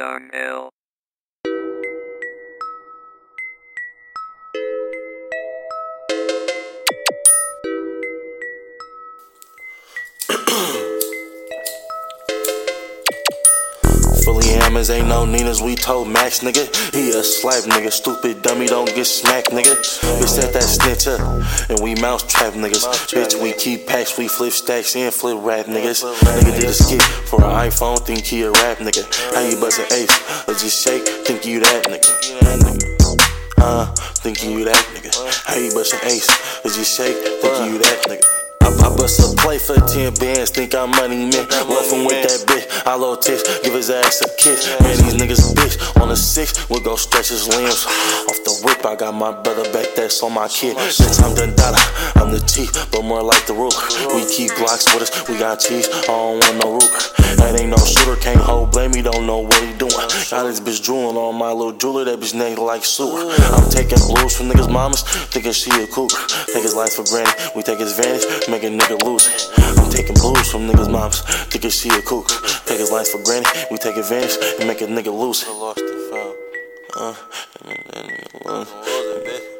Young L. Fully hammers, ain't no Ninas, we told Max, nigga. He a slap, nigga. Stupid dummy, don't get smacked, nigga. Bitch, set that snitch up, and we mouse trap, niggas. Bitch, we keep packs, we flip stacks and flip rap, niggas. Nigga did a skit for an iPhone, think he a rap, nigga. How you bust an ace, or just shake, think you that, nigga. Think you that, nigga. How you bust an ace, or just shake, think you that, nigga. I bust a play for 10 bands, think I'm money man. Left him with that bitch, I low tips, give his ass a kiss. Man, these niggas bitch on the 6, we'll go stretch his limbs. Off the whip, I got my brother back, that's on my kid. Since I'm done dada, I'm the chief, but more like the ruler. We keep Glocks with us, we got cheese, I don't want no Ruger. That ain't no shooter, can't hold blame, he don't know what he doing. Got this bitch drooling on my little jeweler, that bitch name like sewer. I'm taking blues from niggas' mamas, thinking she a cougar. Take his life for granted, we take his vantage, make a nigga lose it. I'm taking blues from niggas' mamas, thinking she a cougar. Take his life for granted, we take advantage and make a nigga lose it.